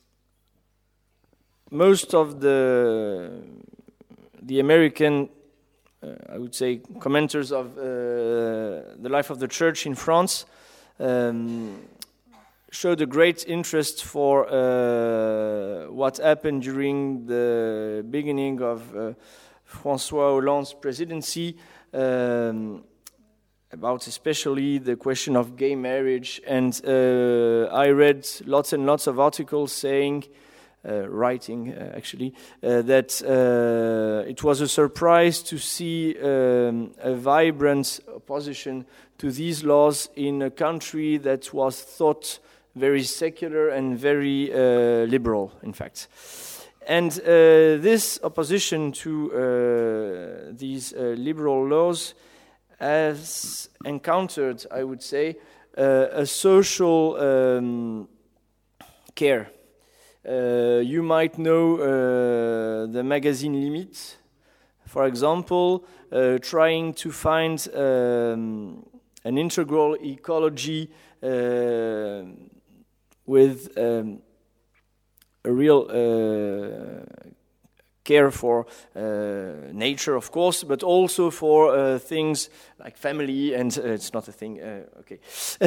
most of the the American, uh, I would say, commenters of uh, the life of the church in France um, showed a great interest for uh, what happened during the beginning of uh, François Hollande's presidency, um, about especially the question of gay marriage. And uh, I read lots and lots of articles saying, uh, writing uh, actually, uh, that uh, it was a surprise to see um, a vibrant opposition to these laws in a country that was thought very secular and very uh, liberal, in fact. And uh, this opposition to uh, these uh, liberal laws has encountered, I would say, uh, a social um, care. Uh, you might know uh, the magazine Limite, for example, uh, trying to find um, an integral ecology uh, with um, a real uh, care for uh, nature, of course, but also for uh, things like family and uh, it's not a thing. Uh, okay,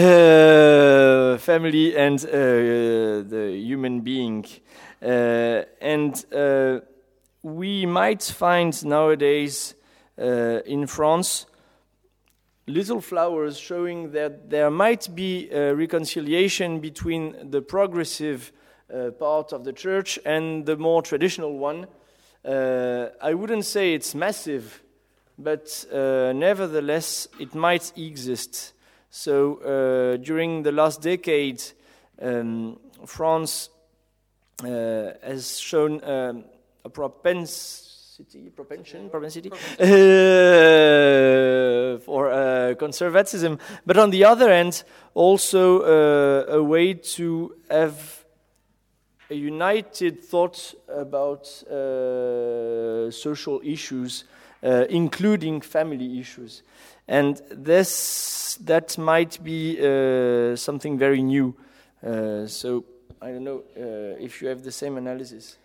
uh, family and uh, the human being, uh, and uh, we might find nowadays uh, in France little flowers showing that there might be a reconciliation between the progressive uh, part of the church and the more traditional one. Uh, I wouldn't say it's massive, but uh, nevertheless it might exist. So uh, during the last decade, um, France uh, has shown um, a propensity, propension, propensity uh, for uh, conservatism, but on the other hand, also uh, a way to have a united thought about uh, social issues, uh, including family issues. And this that might be uh, something very new. Uh, so I don't know uh, if you have the same analysis.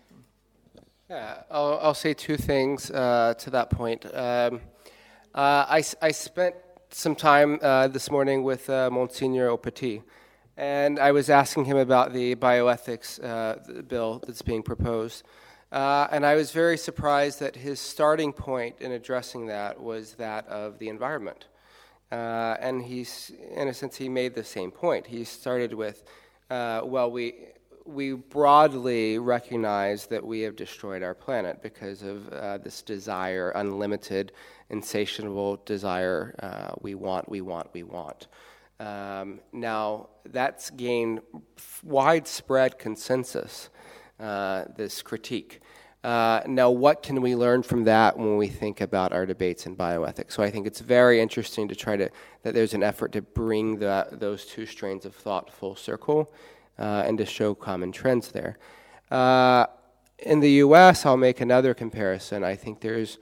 Yeah, I'll, I'll say two things uh, to that point. Um, uh, I, I spent some time uh, this morning with uh, Monsignor Aupetit, and I was asking him about the bioethics uh, bill that's being proposed. Uh, and I was very surprised that his starting point in addressing that was that of the environment. Uh, and he's, in a sense, he made the same point. He started with, uh, well, we we broadly recognize that we have destroyed our planet because of uh, this desire, unlimited, insatiable desire. Uh, we want, we want, we want. Um, now, that's gained widespread consensus, uh, this critique. Uh, now, what can we learn from that when we think about our debates in bioethics? So I think it's very interesting to try to, that there's an effort to bring the, those two strains of thought full circle uh, and to show common trends there. Uh, in the U S, I'll make another comparison. I think there's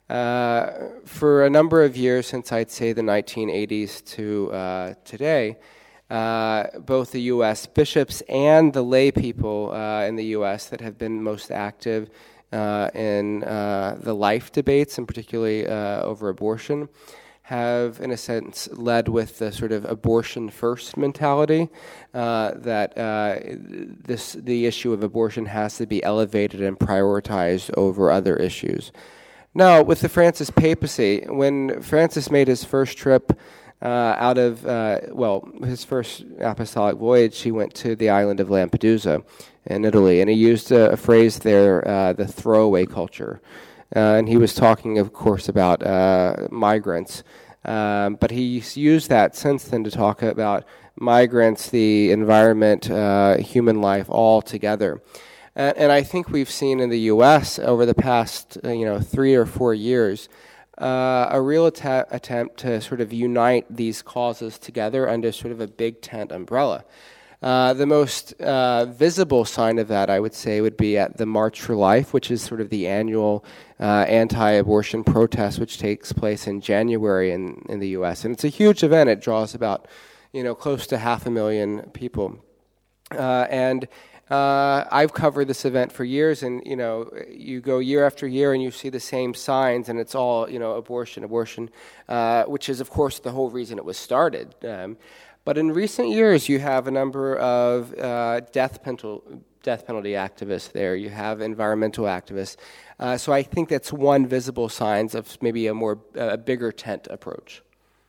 Uh, for a number of years, since I'd say the nineteen eighties to uh, today, uh, both the U S bishops and the lay people uh, in the U S that have been most active uh, in uh, the life debates, and particularly uh, over abortion, have, in a sense, led with the sort of abortion-first mentality, uh, that uh, this the issue of abortion has to be elevated and prioritized over other issues. Now, with the Francis papacy, when Francis made his first trip uh, out of, uh, well, his first apostolic voyage, he went to the island of Lampedusa in Italy, and he used a, a phrase there, uh, the throwaway culture. Uh, and he was talking, of course, about uh, migrants. Um, but he's used that since then to talk about migrants, the environment, uh, human life all together. And, and I think we've seen in the U S over the past, uh, you know, three or four years, uh, a real att- attempt to sort of unite these causes together under sort of a big tent umbrella. Uh, the most uh, visible sign of that, I would say, would be at the March for Life, which is sort of the annual uh, anti-abortion protest, which takes place in January in, in the U S. And it's a huge event. It draws about, you know, close to half a million people. Uh, and uh, I've covered this event for years, and, you know, you go year after year and you see the same signs, and it's all, you know, abortion, abortion, uh, which is, of course, the whole reason it was started. Um, But in recent years, you have a number of uh, death penalty death penalty activists there. You have environmental activists. Uh, so I think that's one visible sign of maybe a more a bigger tent approach.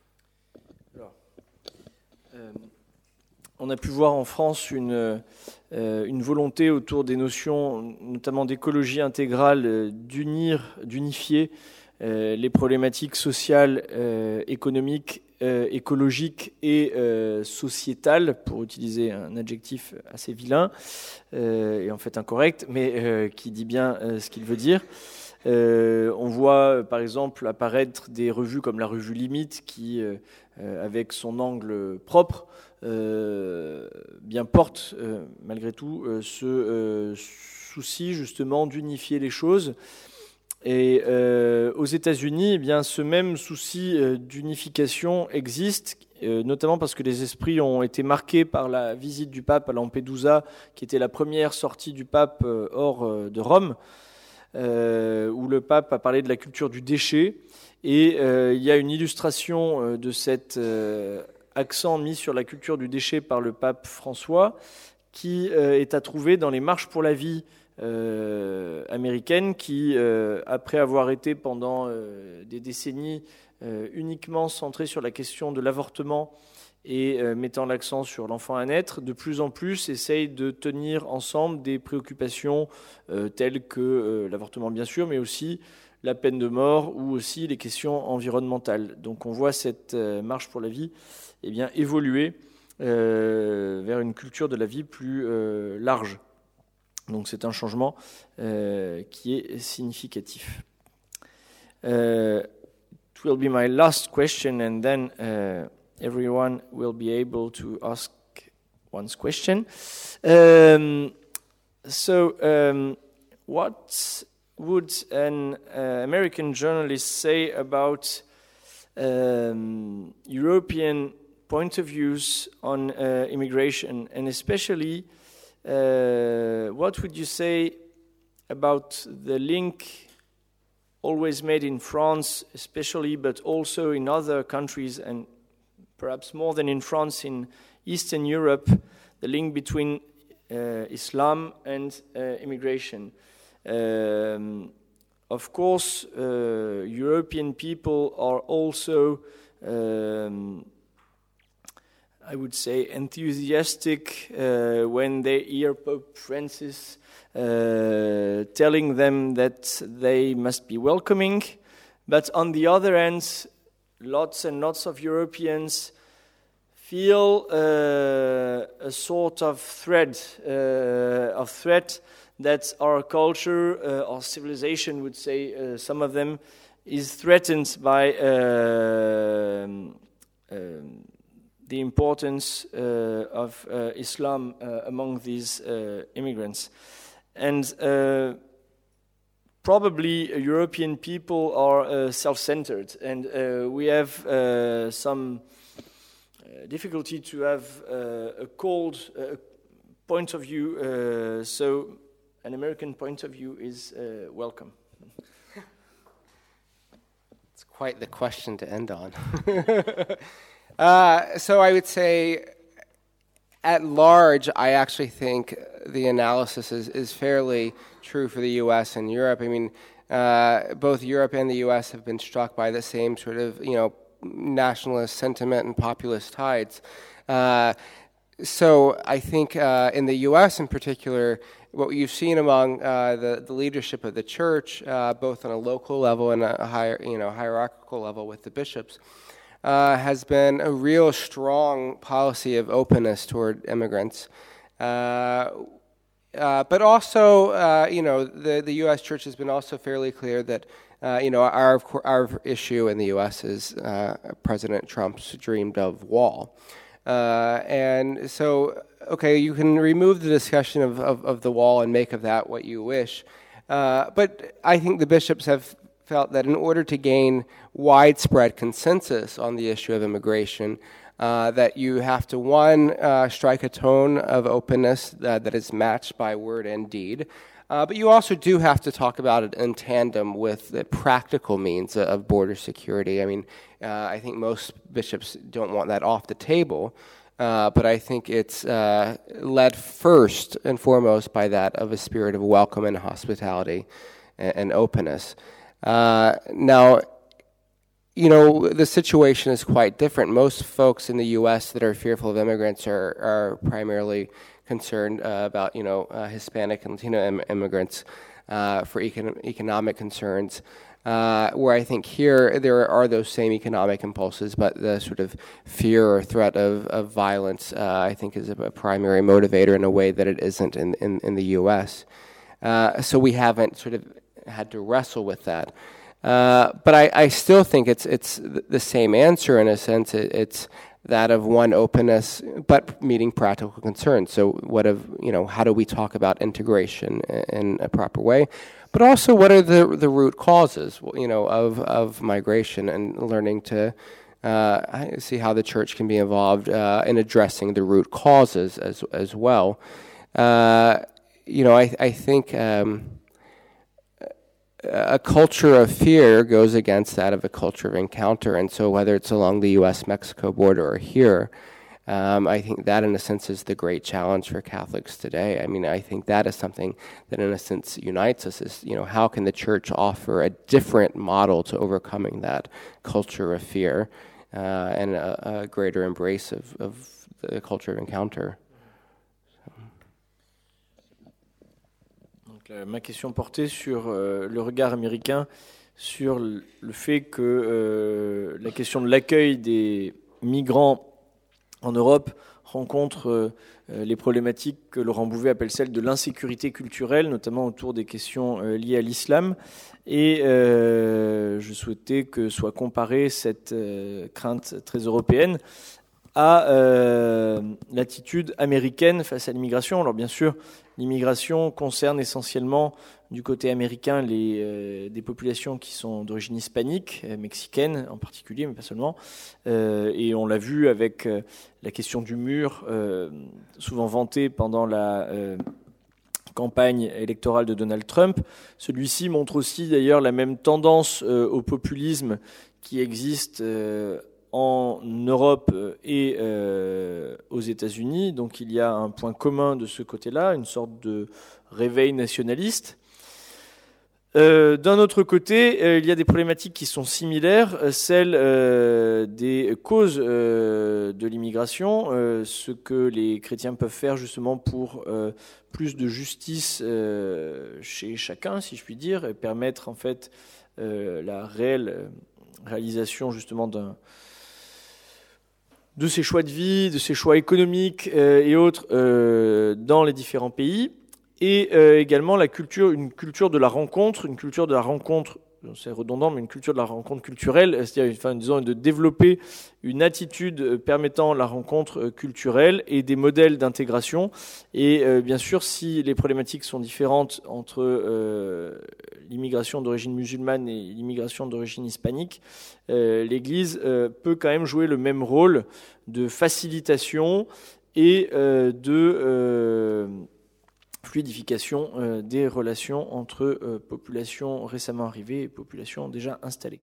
Alors, euh, on a pu voir en France une euh, une volonté autour des notions, notamment d'écologie intégrale, euh, d'unir, d'unifier euh, les problématiques sociales, euh, économiques, Euh, écologique et euh, sociétale, pour utiliser un adjectif assez vilain, euh, et en fait incorrect, mais euh, qui dit bien euh, ce qu'il veut dire. Euh, on voit par exemple apparaître des revues comme la revue Limite, qui, euh, avec son angle propre, euh, bien porte euh, malgré tout euh, ce euh, souci justement d'unifier les choses. Et euh, aux États-Unis, eh bien, ce même souci euh, d'unification existe, euh, notamment parce que les esprits ont été marqués par la visite du pape à Lampedusa, qui était la première sortie du pape euh, hors euh, de Rome, euh, où le pape a parlé de la culture du déchet. Et euh, il y a une illustration euh, de cet euh, accent mis sur la culture du déchet par le pape François, qui euh, est à trouver dans les marches pour la vie Euh, américaine qui, euh, après avoir été pendant euh, des décennies euh, uniquement centrée sur la question de l'avortement et euh, mettant l'accent sur l'enfant à naître, de plus en plus essaye de tenir ensemble des préoccupations euh, telles que euh, l'avortement bien sûr, mais aussi la peine de mort ou aussi les questions environnementales. Donc on voit cette euh, marche pour la vie eh bien, évoluer euh, vers une culture de la vie plus euh, large. Donc c'est un changement euh, qui est significatif. Uh, it will be my last question, and then uh, everyone will be able to ask one's question. Um, so, um, what would an uh, American journalist say about um, European point of views on uh, immigration, and especially Uh, what would you say about the link always made in France, especially, but also in other countries, and perhaps more than in France, in Eastern Europe, the link between uh, Islam and uh, immigration? Um, of course, uh, European people are also um, I would say, enthusiastic uh, when they hear Pope Francis uh, telling them that they must be welcoming. But on the other hand, lots and lots of Europeans feel uh, a sort of threat, uh, of threat that our culture, uh, our civilization would say, uh, some of them, is threatened by uh, um, the importance uh, of uh, Islam uh, among these uh, immigrants. And uh, probably uh, European people are uh, self-centered, and uh, we have uh, some uh, difficulty to have uh, a cold uh, point of view, uh, so an American point of view is uh, welcome. It's quite the question to end on. Uh, so I would say, at large, I actually think the analysis is, is fairly true for the U S and Europe. I mean, uh, both Europe and the U S have been struck by the same sort of, you know, nationalist sentiment and populist tides. Uh, so I think uh, in the U S in particular, what you've seen among uh, the, the leadership of the church, uh, both on a local level and a higher, you know, hierarchical level with the bishops, Uh, has been a real strong policy of openness toward immigrants. Uh, uh, but also, uh, you know, the, the U S church has been also fairly clear that Uh, you know, our our issue in the U S is uh, President Trump's dreamed of wall. Uh, and so, okay, you can remove the discussion of, of, of the wall and make of that what you wish. Uh, but I think the bishops have felt that in order to gain widespread consensus on the issue of immigration, uh, that you have to, one, uh, strike a tone of openness that, that is matched by word and deed. Uh, but you also do have to talk about it in tandem with the practical means of border security. I mean, uh, I think most bishops don't want that off the table, uh, but I think it's uh, led first and foremost by that of a spirit of welcome and hospitality and, and openness. Uh, now, you know, the situation is quite different. Most folks in the U S that are fearful of immigrants are, are primarily concerned uh, about, you know, uh, Hispanic and Latino im- immigrants uh, for econ- economic concerns, uh, where I think here there are those same economic impulses, but the sort of fear or threat of, of violence, uh, I think, is a, a primary motivator in a way that it isn't in, in, in the U S. Uh, so we haven't sort of had to wrestle with that. Uh, but I, I still think it's it's the same answer in a sense. It, it's that of one openness, but meeting practical concerns. So what of, you know, how do we talk about integration in a proper way? But also what are the the root causes, you know, of, of migration, and learning to uh, see how the church can be involved uh, in addressing the root causes as as well. Uh, you know, I, I think um, a culture of fear goes against that of a culture of encounter. And so whether it's along the U S Mexico border or here, um, I think that in a sense is the great challenge for Catholics today. I mean, I think that is something that in a sense unites us, is, you know, how can the church offer a different model to overcoming that culture of fear uh, and a, a greater embrace of, of the culture of encounter. Euh, ma question portait sur euh, le regard américain sur le, le fait que euh, la question de l'accueil des migrants en Europe rencontre euh, les problématiques que Laurent Bouvet appelle celles de l'insécurité culturelle, notamment autour des questions euh, liées à l'islam. Et euh, je souhaitais que soit comparée cette euh, crainte très européenne à euh, l'attitude américaine face à l'immigration. Alors bien sûr, l'immigration concerne essentiellement du côté américain les, euh, des populations qui sont d'origine hispanique, euh, mexicaine en particulier, mais pas seulement. Euh, et on l'a vu avec euh, la question du mur, euh, souvent vantée pendant la euh, campagne électorale de Donald Trump. Celui-ci montre aussi d'ailleurs la même tendance euh, au populisme qui existe euh, en Europe et euh, aux États-Unis. Donc il y a un point commun de ce côté-là, une sorte de réveil nationaliste. Euh, d'un autre côté, euh, il y a des problématiques qui sont similaires, euh, celles euh, des causes euh, de l'immigration, euh, ce que les chrétiens peuvent faire justement pour euh, plus de justice euh, chez chacun, si je puis dire, et permettre en fait euh, la réelle réalisation justement d'un de ses choix de vie, de ses choix économiques euh, et autres euh, dans les différents pays, et euh, également la culture, une culture de la rencontre, une culture de la rencontre, c'est redondant, mais une culture de la rencontre culturelle, c'est-à-dire, enfin, disons, de développer une attitude permettant la rencontre culturelle et des modèles d'intégration. Et euh, bien sûr, si les problématiques sont différentes entre euh, l'immigration d'origine musulmane et l'immigration d'origine hispanique, euh, l'Église euh, peut quand même jouer le même rôle de facilitation et euh, de euh, fluidification euh, des relations entre euh, populations récemment arrivées et populations déjà installées.